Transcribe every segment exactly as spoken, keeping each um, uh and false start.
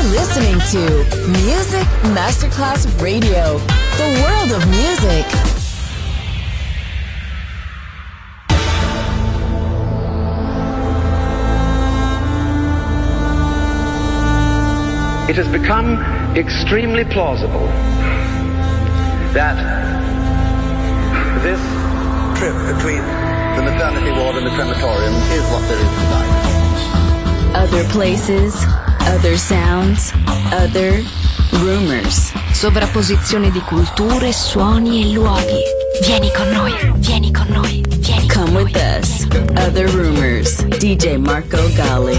listening to Music Masterclass Radio, the world of music. It has become extremely plausible that this trip between the maternity ward and the crematorium is what there is tonight. Other places, other sounds, other rumors. Sovrapposizione di culture, suoni e luoghi. Vieni con noi, vieni con noi, vieni con Come noi. with us. Other rumors. D J Marco Gally.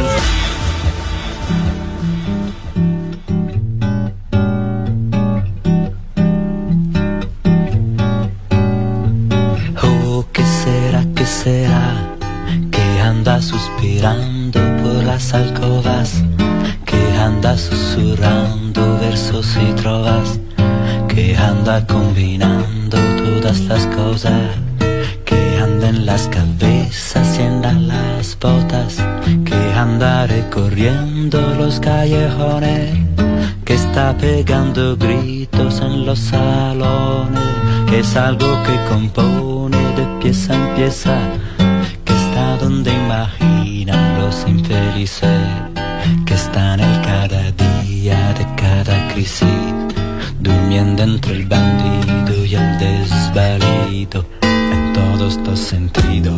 Será que anda suspirando por las alcovas, que anda susurrando versos y trovas, que anda combinando todas las cosas, que anda en las cabezas y en las botas, que anda recorriendo los callejones, que está pegando gritos en los salones, que es algo que compone de pieza en pieza, que está donde imaginan los infelices, que está en el cada día de cada crisis, durmiendo entre el bandido y el desvalido, en todos los sentidos.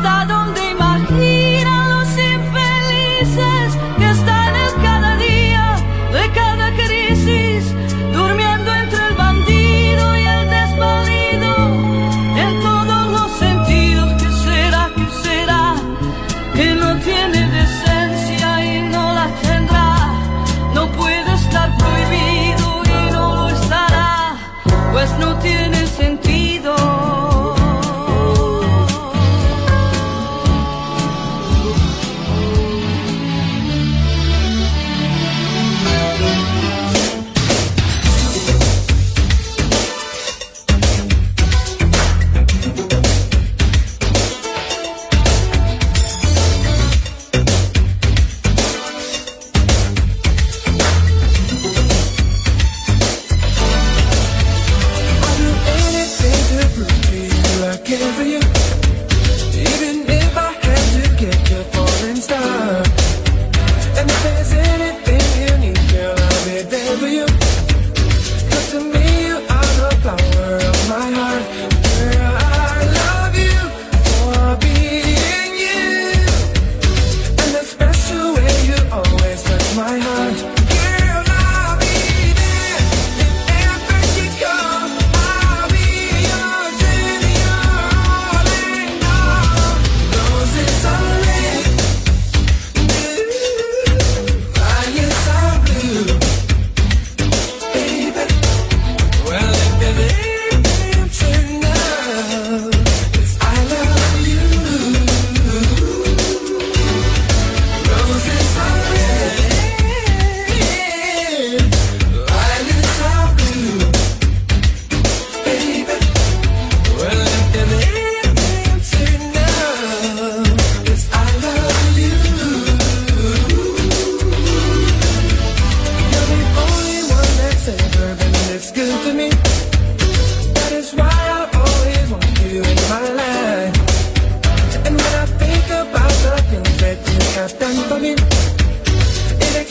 Que está en el cada día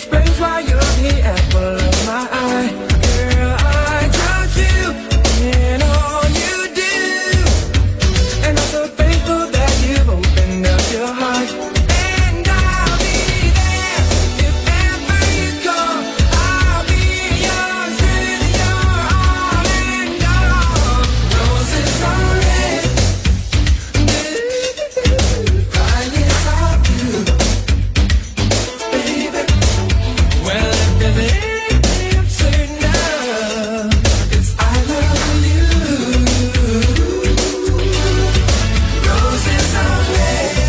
explains why you're the apple of my eye. Girl, I trust you in all you do, and I'm so thankful that you've opened up your heart. And I'll be there if ever you call. I'll be yours with your all and all. Roses are red, violets are blue, baby. Well, if everything I'm certain of is I love you. Roses are red,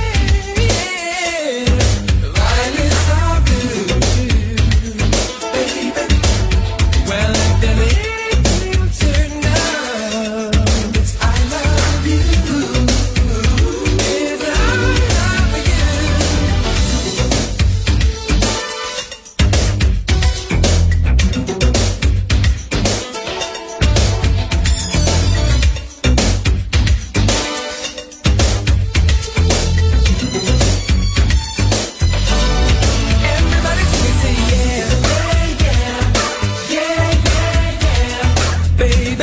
yeah, violets are blue, baby. Well, if everything I'm certain of is I love you, is I love you. Everybody say yeah, yeah, yeah, yeah, yeah, baby,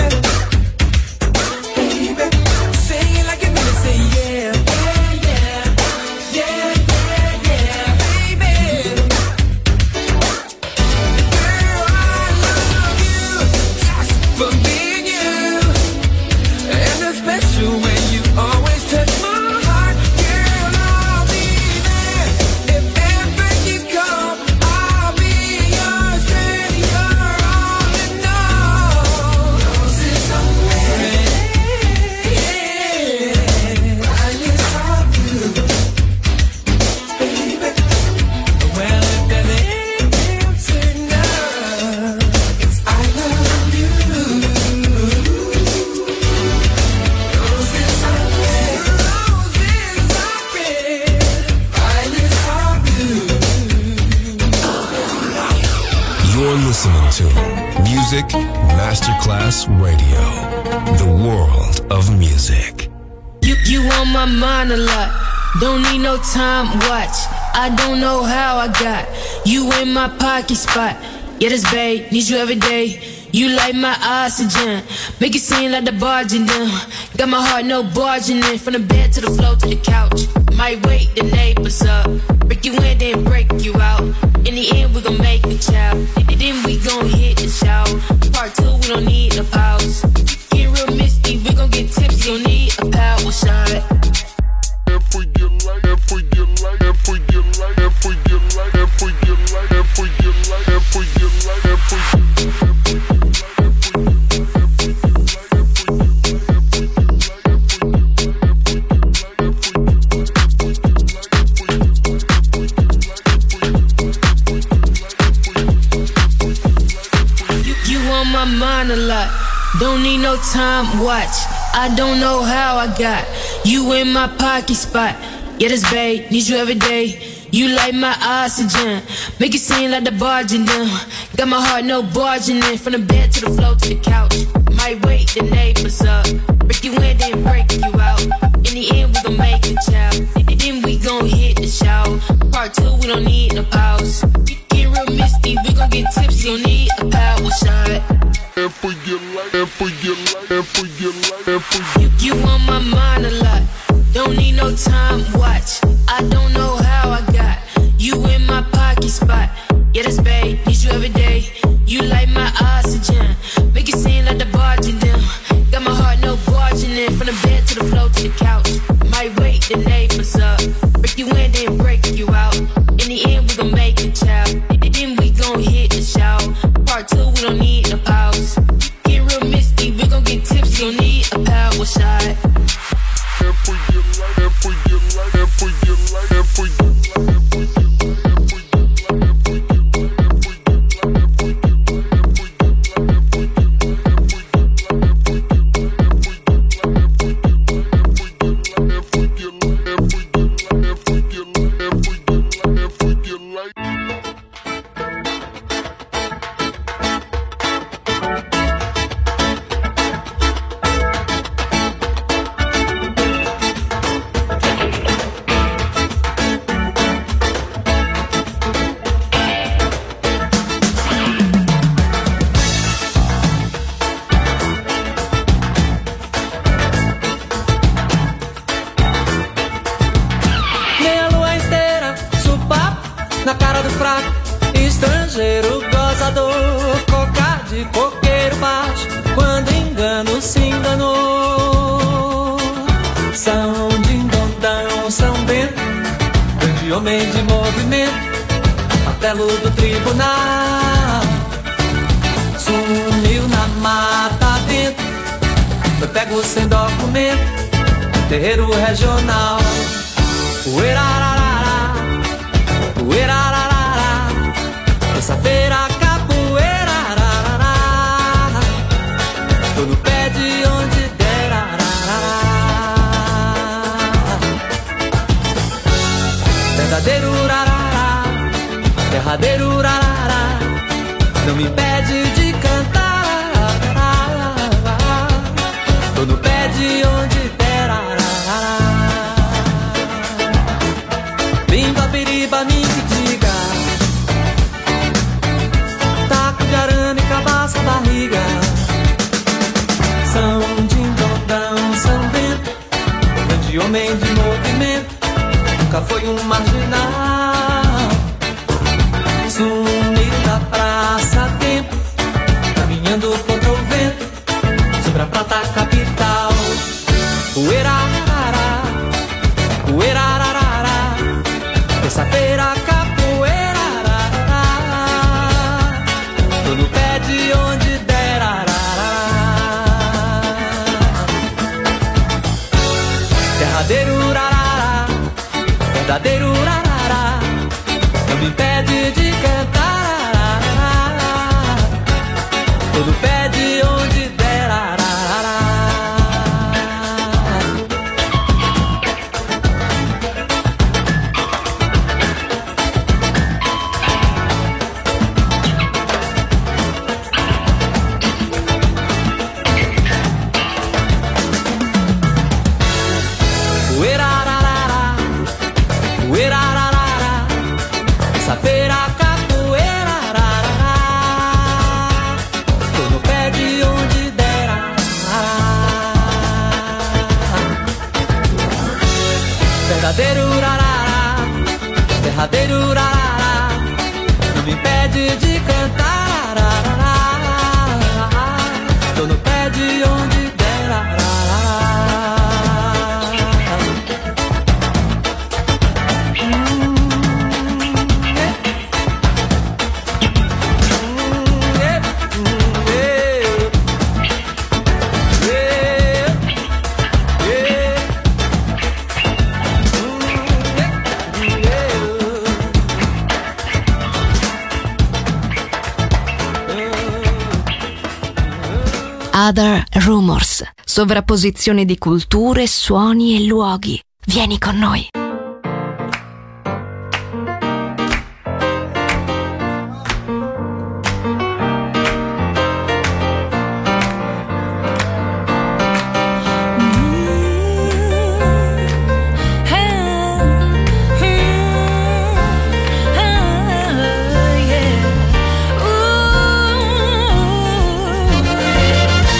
baby. Sing it like you mean it, say yeah, yeah, yeah, yeah, yeah, yeah, baby. Girl, I love you just for being you, and it's special when you always touch my heart. Girl, I'll be there if ever you come. I'll be yours, with your all and all. Roses are red, yeah, violets are blue, baby. Well, if there's anything I'm certain of, it's I love you. Roses are red, roses are red, violets are blue. You're listening to Music Masterclass Radio, the world of music. You you on my mind a lot. Don't need no time watch. I don't know how I got you in my pocket spot. Yeah, this babe, need you every day. You like my oxygen, make it seem like the barging down. Got my heart no barging in, from the bed to the floor to the couch. Might wake the neighbors up, break you in then break you out. In the end we gon' make a child, then we gon' hit the shower. Part two we don't need a pause. Get real misty, we gon' get tipsy, don't need a power shot. If we get like, if we get like, if we get like, if we get like, if we get like, if we get like, if we get like, if we get like, You, you on my mind a lot. Don't need no time watch. I don't know how I got you in my pocket spot. Yeah, this babe, need you every day. You like my oxygen, make it seem like the barging down. Got my heart no barging in, from the bed to the floor to the couch. Might wake the neighbors up, break you in then break you out. In the end we gon' make a child, then we gon' hit the shower. Part two we don't need no pause. Get real misty, we gon' get tipsy, don't need a power shot. if we get like, if we get like, if we get like, if we You, you on my mind a lot. Don't need no time watch. I don't know how I got you in my pocket spot. Yeah, this babe, need you every day. You like my oxygen, make it seem like the barging down. Got my heart no barging in, from the bed to the floor to the couch. Might wake the neighbors up, break you in then break you out. In the end we gon' make a child, then we gon' hit the shower. Part two we don't need no pause. Get real misty, we gon' get tipsy, don't need a power shot. if we get like, if we get like, if we get like, if we get like, if we get like, if we get like, if we get like, if we get like, fraco, estrangeiro gozador, cocar de coqueiro baixo, quando engano se enganou. São Dindondão, São Bento, grande homem de movimento, martelo do tribunal. Sumiu na mata dentro, foi pego sem documento, terreiro regional. Uerararara, uerararara, terça-feira capoeira, arararara, tô no pé de onde der, arararara. Verdadeiro urarará, derradeiro urarará, não me impede de cantar, arararara, tô no pé de onde der, arararara. Limpa, piriba, me que diga, taco de arame, cabaça, barriga. São Dindondão, São Bento, grande homem de movimento, nunca foi um marginal. Sumiu da praça a tempo, caminhando contra o vento, sobre a prata capital. Uerararara, uerararara, terça-feira capoeira, arararara, tô no pé de onde der, arararara. Derradeiro urarará, verdadeiro urarará, não me impede de cantar, arararara, tô no pé de onde der, arararara. Uerararara, uerararara, terça-feira capoeira, arararara, tô no pé de onde der, arararara. Verdadeiro urarará, derradeiro urarará, não me impede de cantar, arararara, tô no pé de onde der, arararara. Other Rumors, sovrapposizione di culture, suoni e luoghi. Vieni con noi.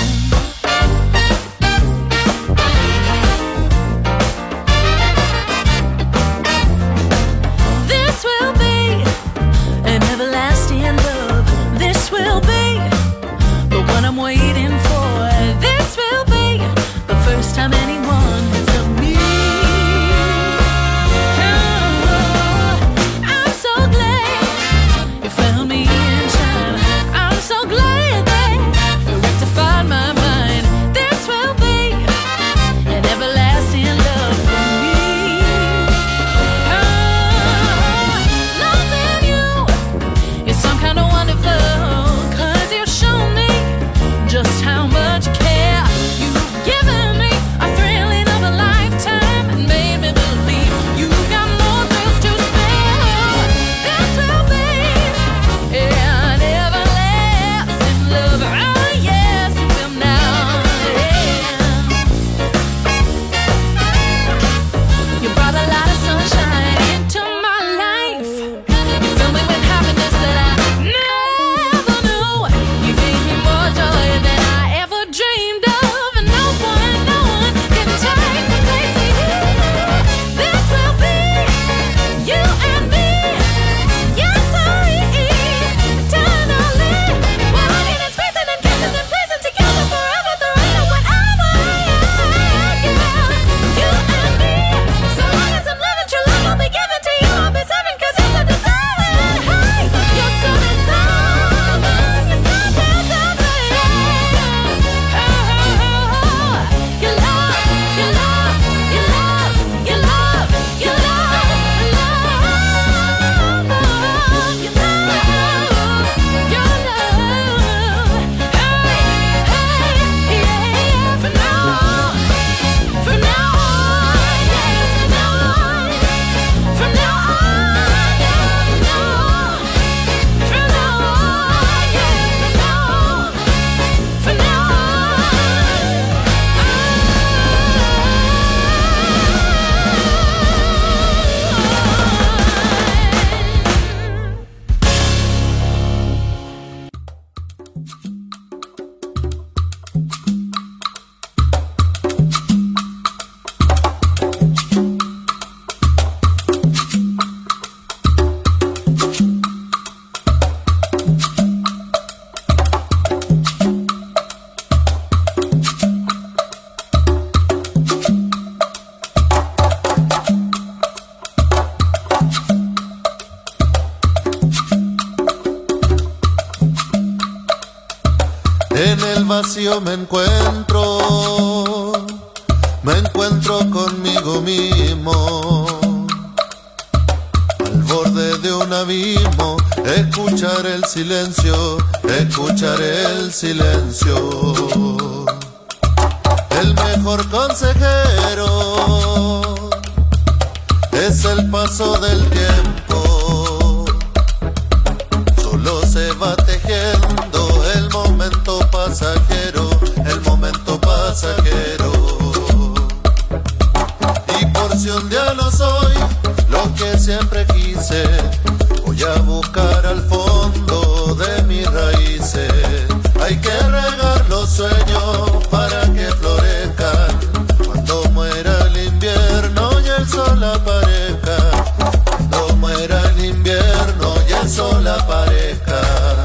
Ooh. En el vacío me encuentro, me encuentro conmigo mismo. Al borde de un abismo, escuchar el silencio, escuchar el silencio. El mejor consejero es el paso del tiempo. Solo se va tejiendo el momento pasajero, el momento pasajero. Y por si un día no soy lo que siempre quise, voy a buscar al fondo de mis raíces. Hay que regar los sueños para que florezcan cuando muera el invierno y el sol aparezca. Cuando muera el invierno y el sol aparezca.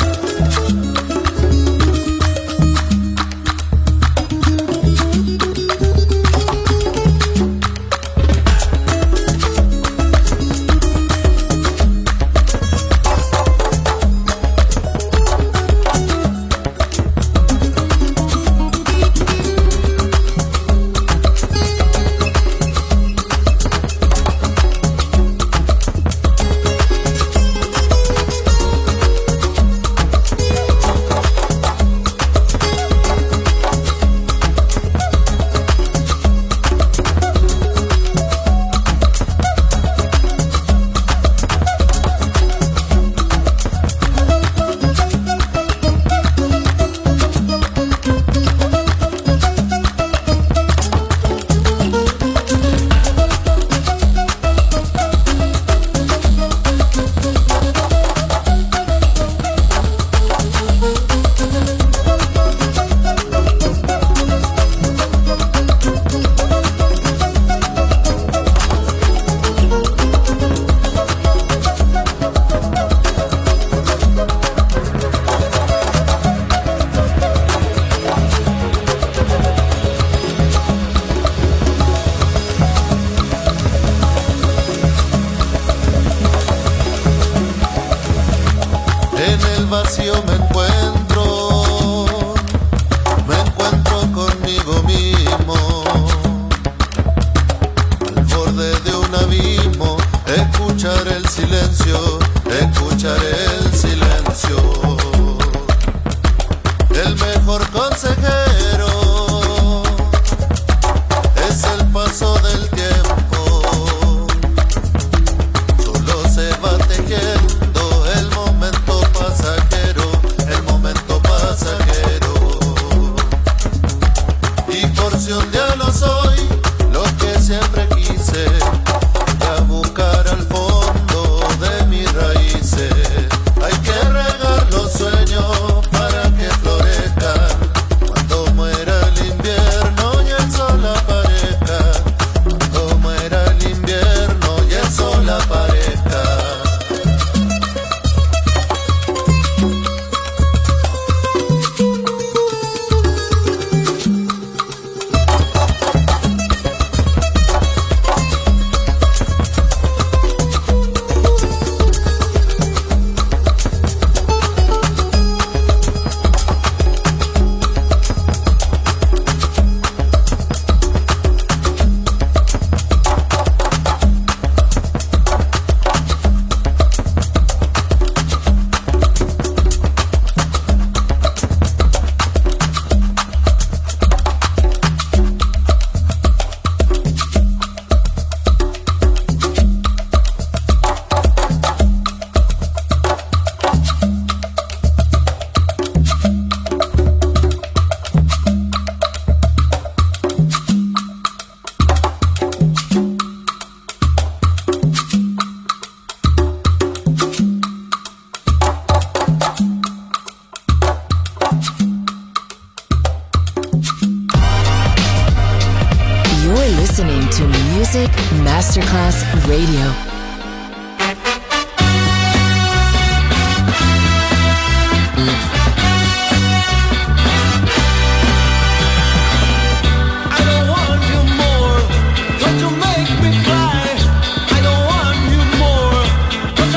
Masterclass Radio.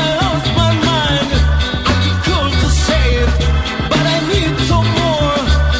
But I need some more.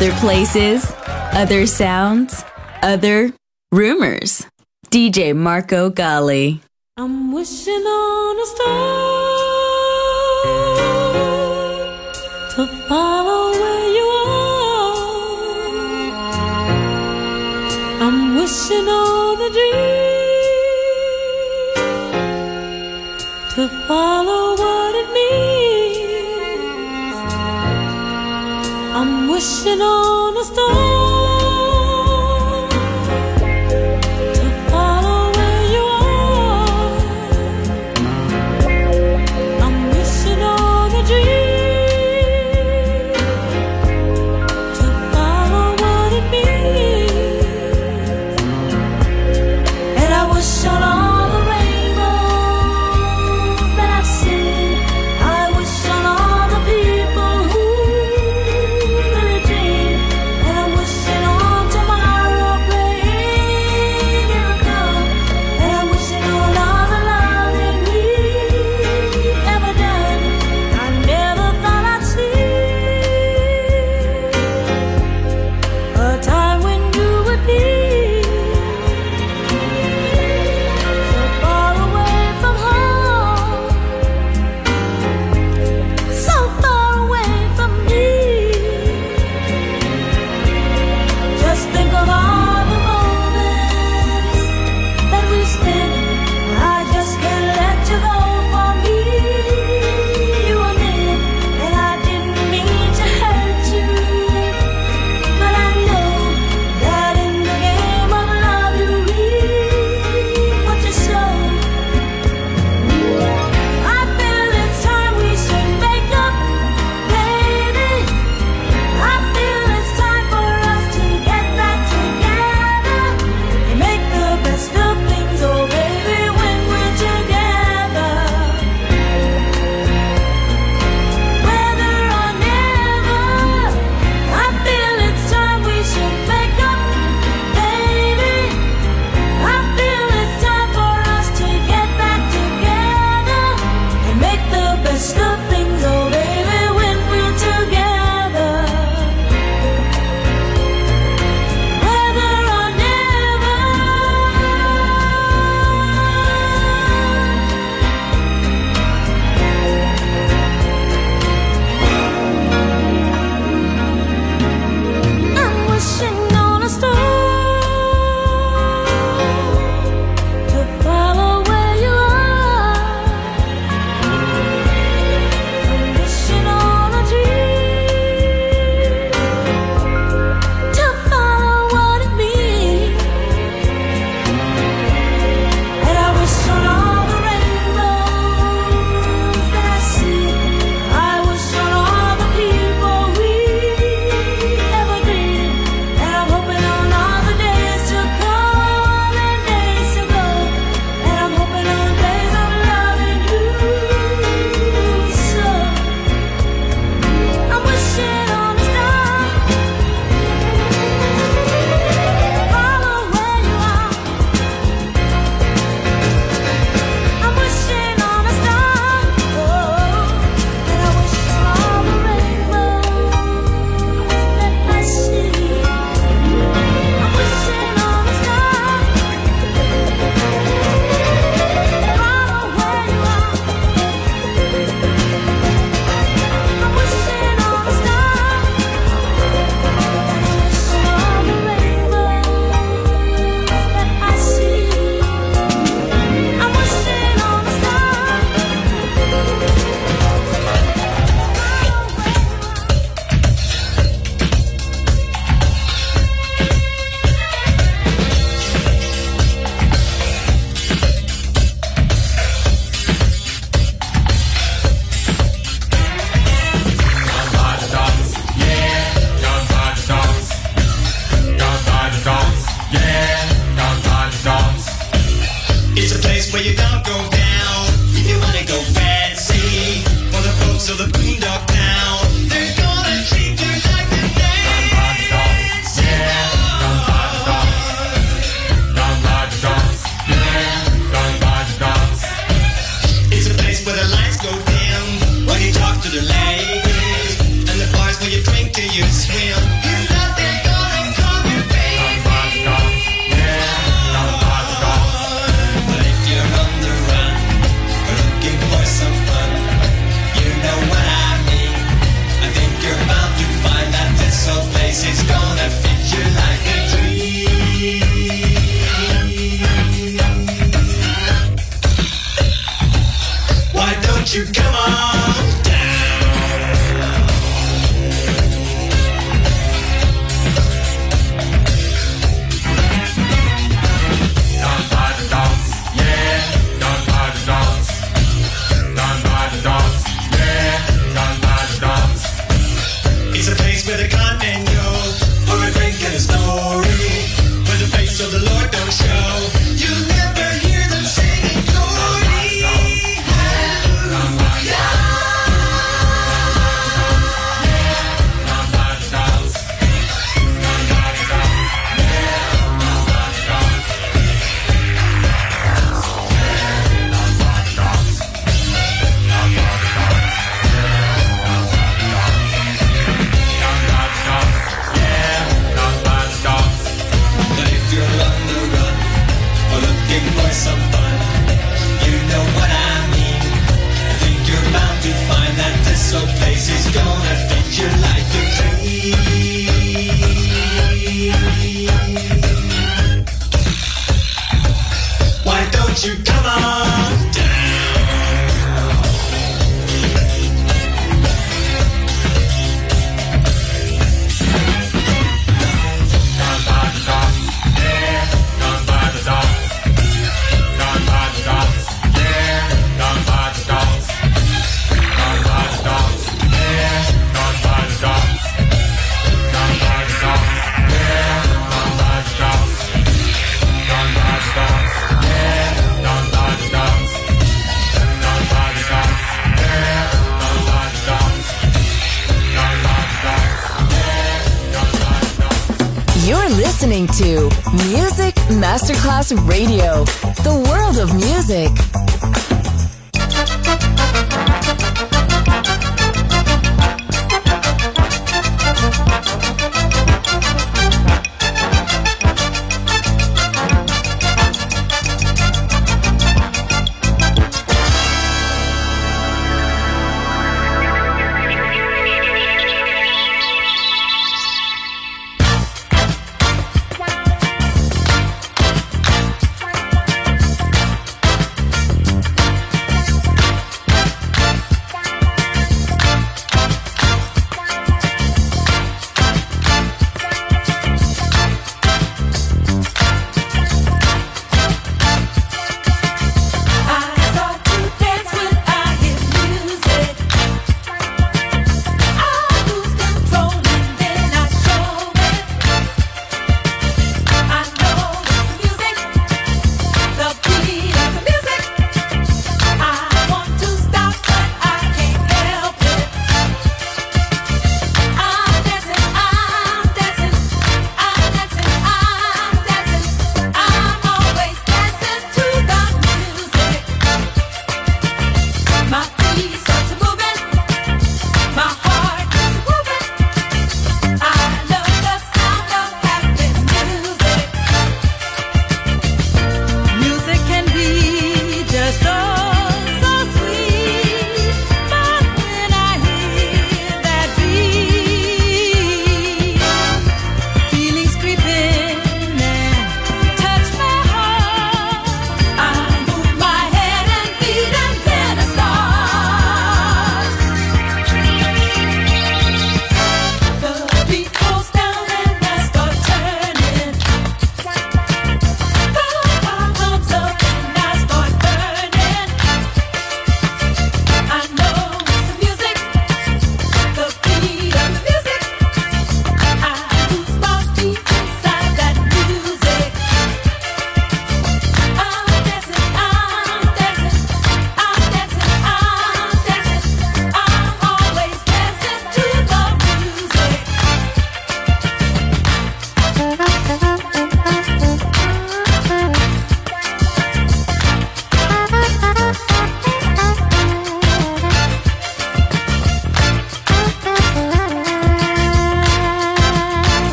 Other places, other sounds, other rumors. D J Marco Gally. I'm wishing on a star to follow where you are. I'm wishing on a dream to follow what it means. I'm wishing on a star. the ladies, and the bars where you drink till you swim. don't you come on down. Down by the docks, yeah, down by the docks. Down by the docks, yeah, down by the docks. It's a place where the con men go for a drink and a story, where the face of the Lord don't show. You'll never hear them singing glory. Hallelujah. Down by the docks, down by the docks, yeah, down by the docks. Down by the docks, down by the docks, down by the docks, yeah, down by the docks. But if you're on the run or looking for some fun, you know what I mean. I think you're bound to find that this old place is gonna fit you like a dream. Why don't you come on down? Down by the docks, yeah, down by the docks. Down by the docks, yeah, down by the docks. Down by the docks, yeah, down by the docks. Down by the docks, yeah, down by the docks. Down by the docks, yeah, down by the docks. Down by the docks, yeah, down by the docks. Down by the docks, yeah, down by the docks. You're listening to Music Masterclass Radio, the world of music.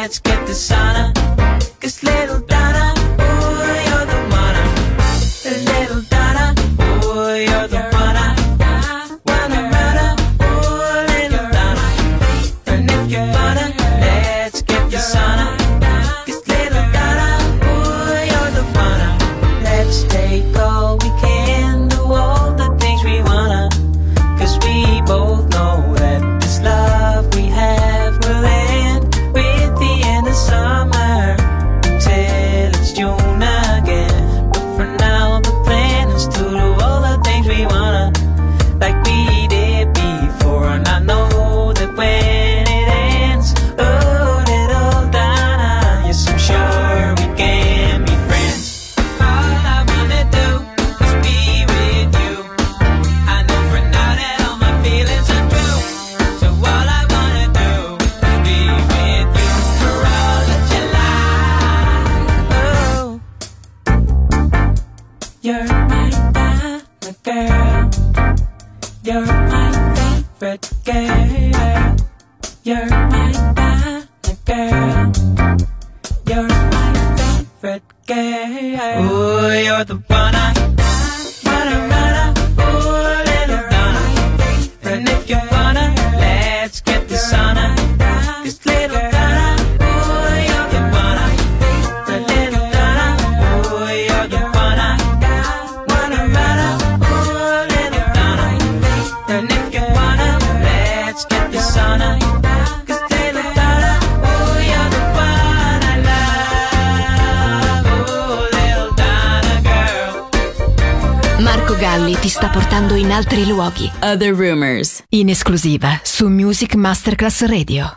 let's get the sauna. Cause little Donna, ooh, you're the one. Little Donna, ooh, you're the one. Wanna run, ooh, little Donna. And if you wanna, let's get the sauna. Cause little Donna, ooh, you're the one. Let's take all we can, do all the things we wanna. Cause we both know that this love we have will end with the end of summer till it's June again. But for now the plan is to do all the things we wanna, like we did before. And I know that when it ends, oh little Donna, yes I'm sure we can be friends. All I wanna do is be with you. I know for now that all my feelings are true. So all I wanna do is be with you for all of July. Oh, you're my Donna girl. You're my favorite girl. You're my Donna girl. You're my favorite girl. Ooh, you're the one I wanna run. Ooh, little Donna. And if you wanna, let's get the sauna. Cause little Donna, ooh, you're the one I little Donna, ooh, you're the one I wanna run. Ooh, little Donna. And if you wanna, let's get the sauna. Cause little Donna, ooh, you're the one I love. Ooh, little Donna girl. Marco Galli ti sta portando in altri luoghi. Other Rumors. In esclusiva su Music Masterclass Radio.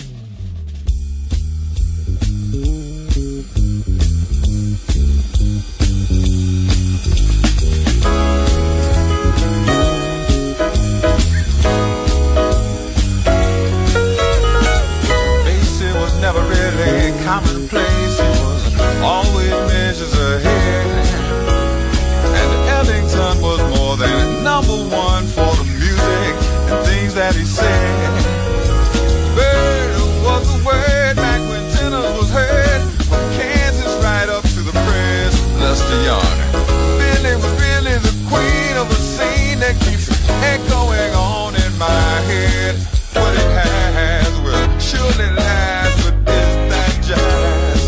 Basie was never really commonplace. He was always measures ahead. And Ellington was more than number one for the music and things that he said. Bird was the word back when tenors was heard, from Kansas right up to the press, Lester Young. Billy was really the queen of a scene that keeps echoing on in my head. What it has will surely last, but is that jazz?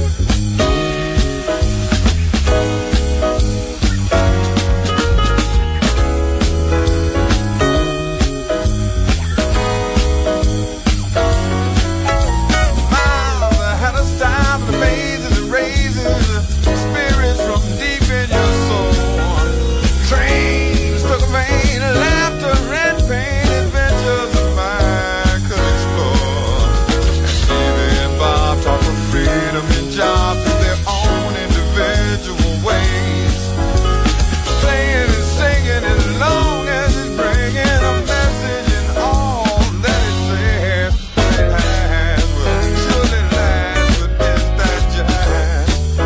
Miles had a style that amazes and raises spirits from deep in your soul. Trains took a vein, laughter and pain, adventures of mine could explore. And Stevie and Bob talk of freedom and jobs in their own individual ways. Playing and singing as long as it's bringing a message in all that it says. What it has will surely last, but is that jazz?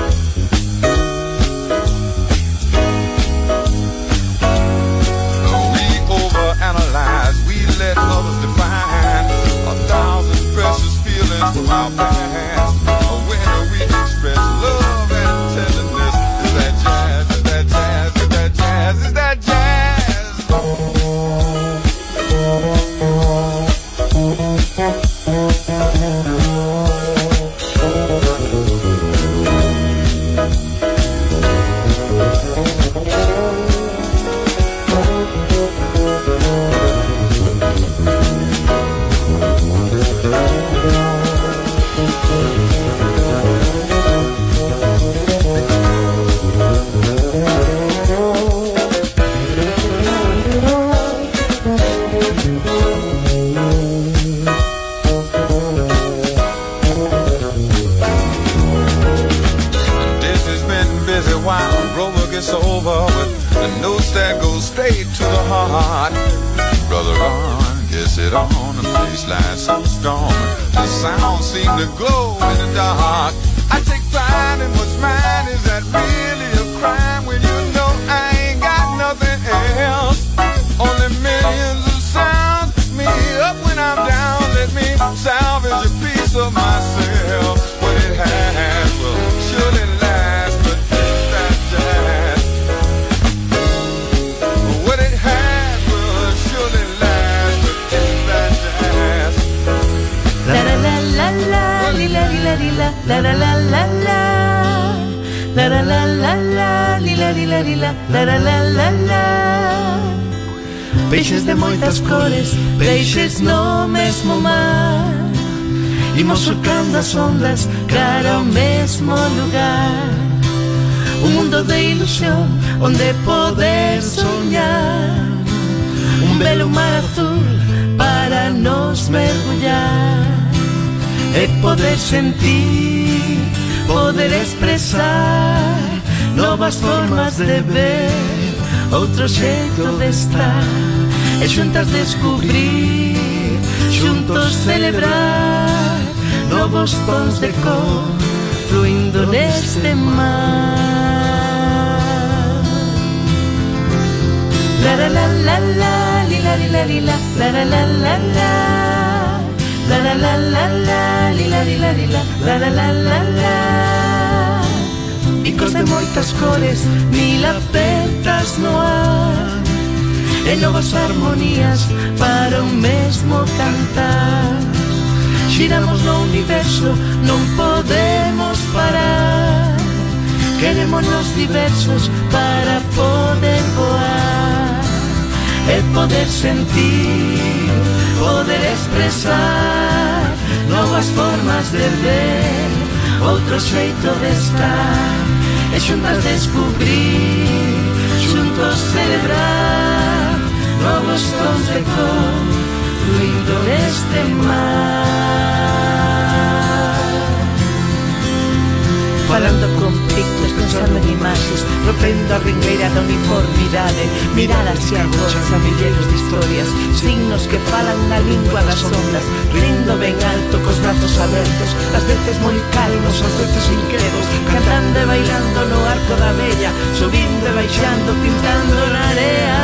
We overanalyze, we let others define a thousand precious feelings from our past. When we express love and tenderness, is that jazz? Is that jazz? Is that jazz? Is that jazz? This has been busy while Rover gets over with the notes that go straight to the heart. Brother Ron gets it on, the baseline so strong, the sound seem to glow in the dark. I take pride in what's mine. Is that really a crime when you know I ain't got nothing else? Only millions of sounds. Me up when I'm down. Let me salvage a piece of myself. la la la la la, la la la la la, li la li la li la, la la la la la. Peixes de moitas cores, peixes no mesmo mar, imos surcando as ondas cara ao mesmo lugar. Un mundo de ilusión onde poder soñar, un belo mar azul para nos mergullar e poder sentir, poder expresar novas formas de ver, outro xeito de estar e xuntas descubrir, xuntos celebrar novos tons de cor fluindo neste mar. La la la la la, li la li la li la, la la la la la, la la la la la, li la li la li la, la la la la la. Picos de moitas cores, mil apertas no ar e novas armonías para un mesmo cantar. Xiramos no universo, non podemos parar, querémonos diversos para poder voar e poder sentir, poder expresar novas formas de ver, outro xeito de estar e xuntas descubrir, xuntos celebrar novos tons de cor fluindo neste mar. Falando con pictos, pensando en imaxes, rompendo a ringueira da uniformidade, miradas e agora a milleiros de historias, signos que falan na lingua das ondas, rindo ben alto cos brazos abertos, ás veces moi calmos, ás veces inquedos, cantando e bailando no arco da vella, subindo e baixando, pintando na area.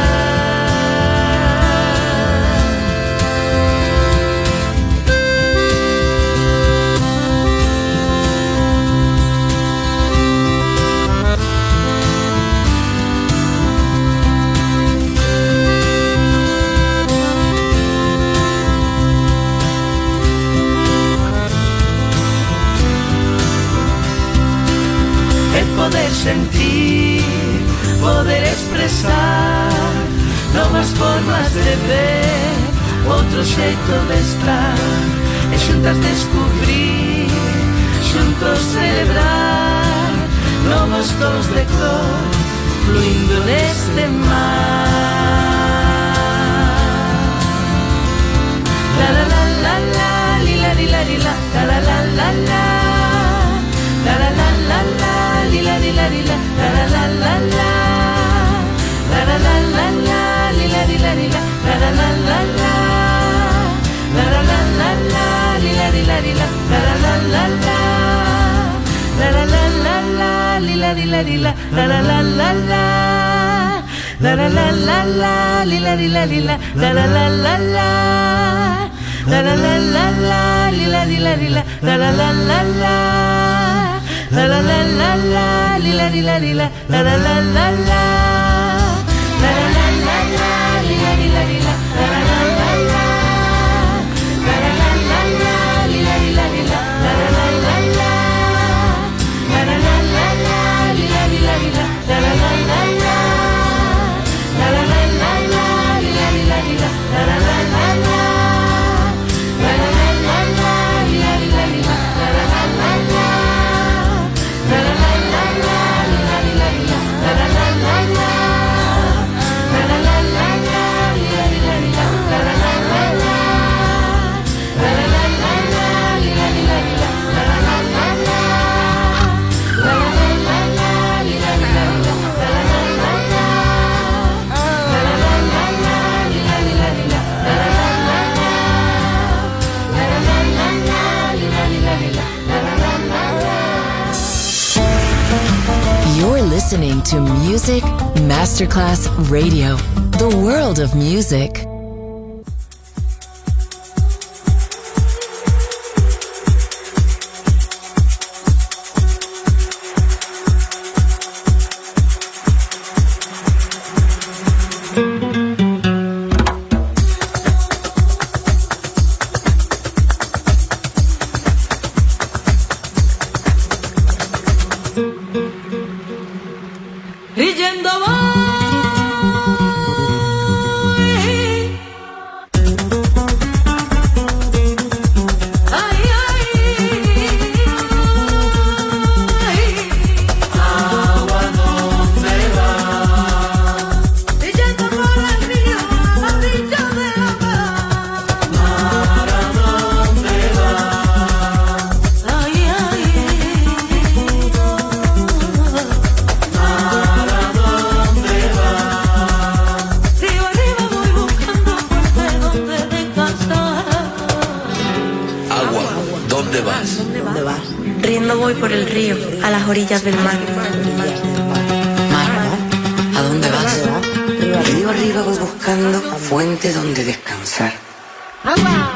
Poder sentir, poder expresar novas formas de ver, outro xeito de estar e xuntas descubrir, xuntos celebrar novos tons de cor fluindo neste mar. La la la la la, li la li la li la, la la la la la, la la la la la, li la li la li la, la la la la la, la la la la la, li la li la li la, la la la la la, la la la la la, li la li la li la, la la la la la, la la la la la, li la li la li la, la la la la la, la la la la la, li la li la li la, la la la la la, la la la la la, li la li la li la, la la la la la. La la la la la, li la li la li la, la la la la la, la la la la la, li la li la li la, la la la la la, la la la la la, li la li la li la, la la la la la, la la la la la, li la li la li la, la la la la la, la la la la la, li la li la li la, la la la la la, la la la la la, li la li la li la, la la la la la. La la la la la, li la li la li la, la la la la la, la la la la la, li la li la li la, la la la la la, la la la la la, li la li la li la, la la la la la, la la la la la, li la li la li la, la la la la la, la la la la la, li la li la li la, la la la la la, la la la la la, li la li la li la, la la la la la. You're listening to Music Masterclass Radio, the world of music. dónde vas? ¿Dónde vas? Riendo voy por el río, a las orillas del mar. Mar, ¿a dónde vas? Río arriba voy buscando fuente donde descansar. ¡Agua!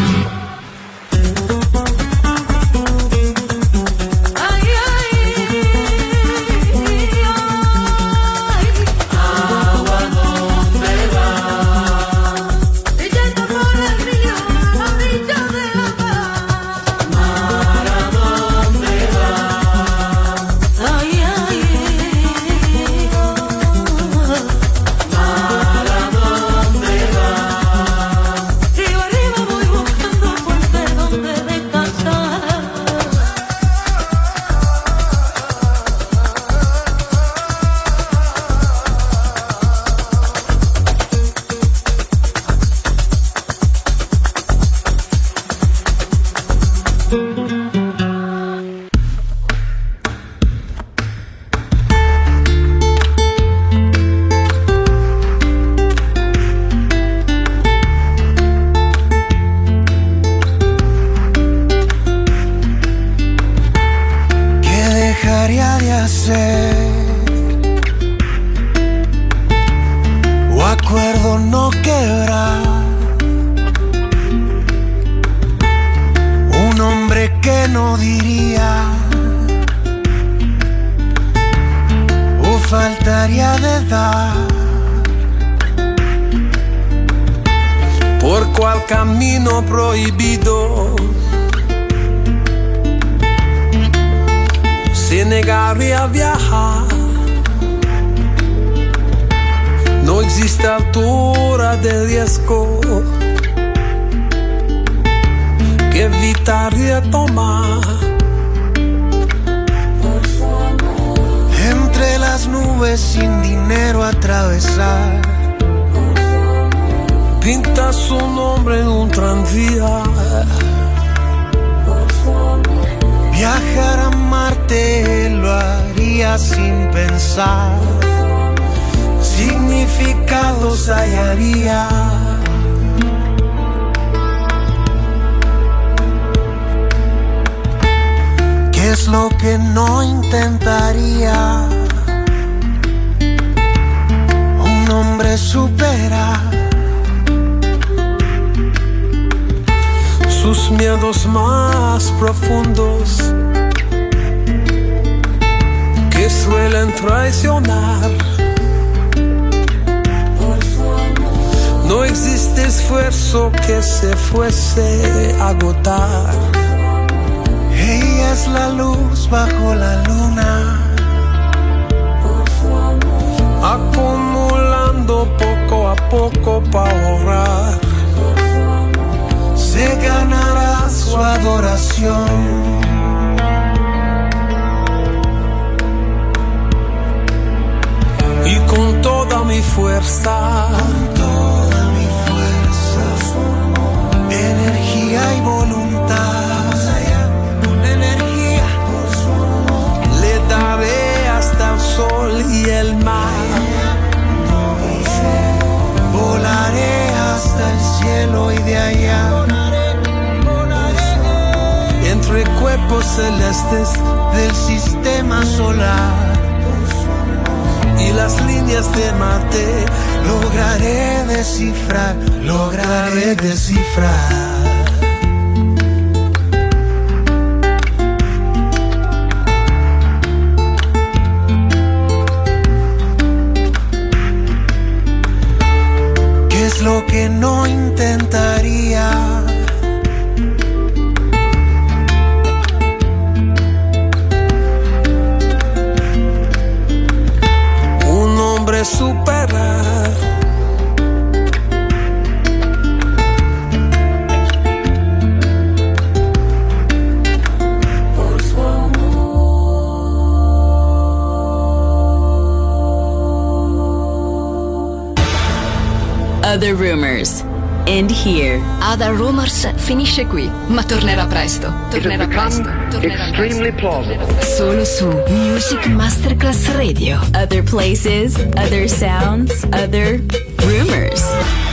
Other Rumors. End here. Other Rumors finisce qui, ma tornerà presto. Tornerà presto. Tornerà extremely plausible. Solo su Music Masterclass Radio. Other places, other sounds, other rumors.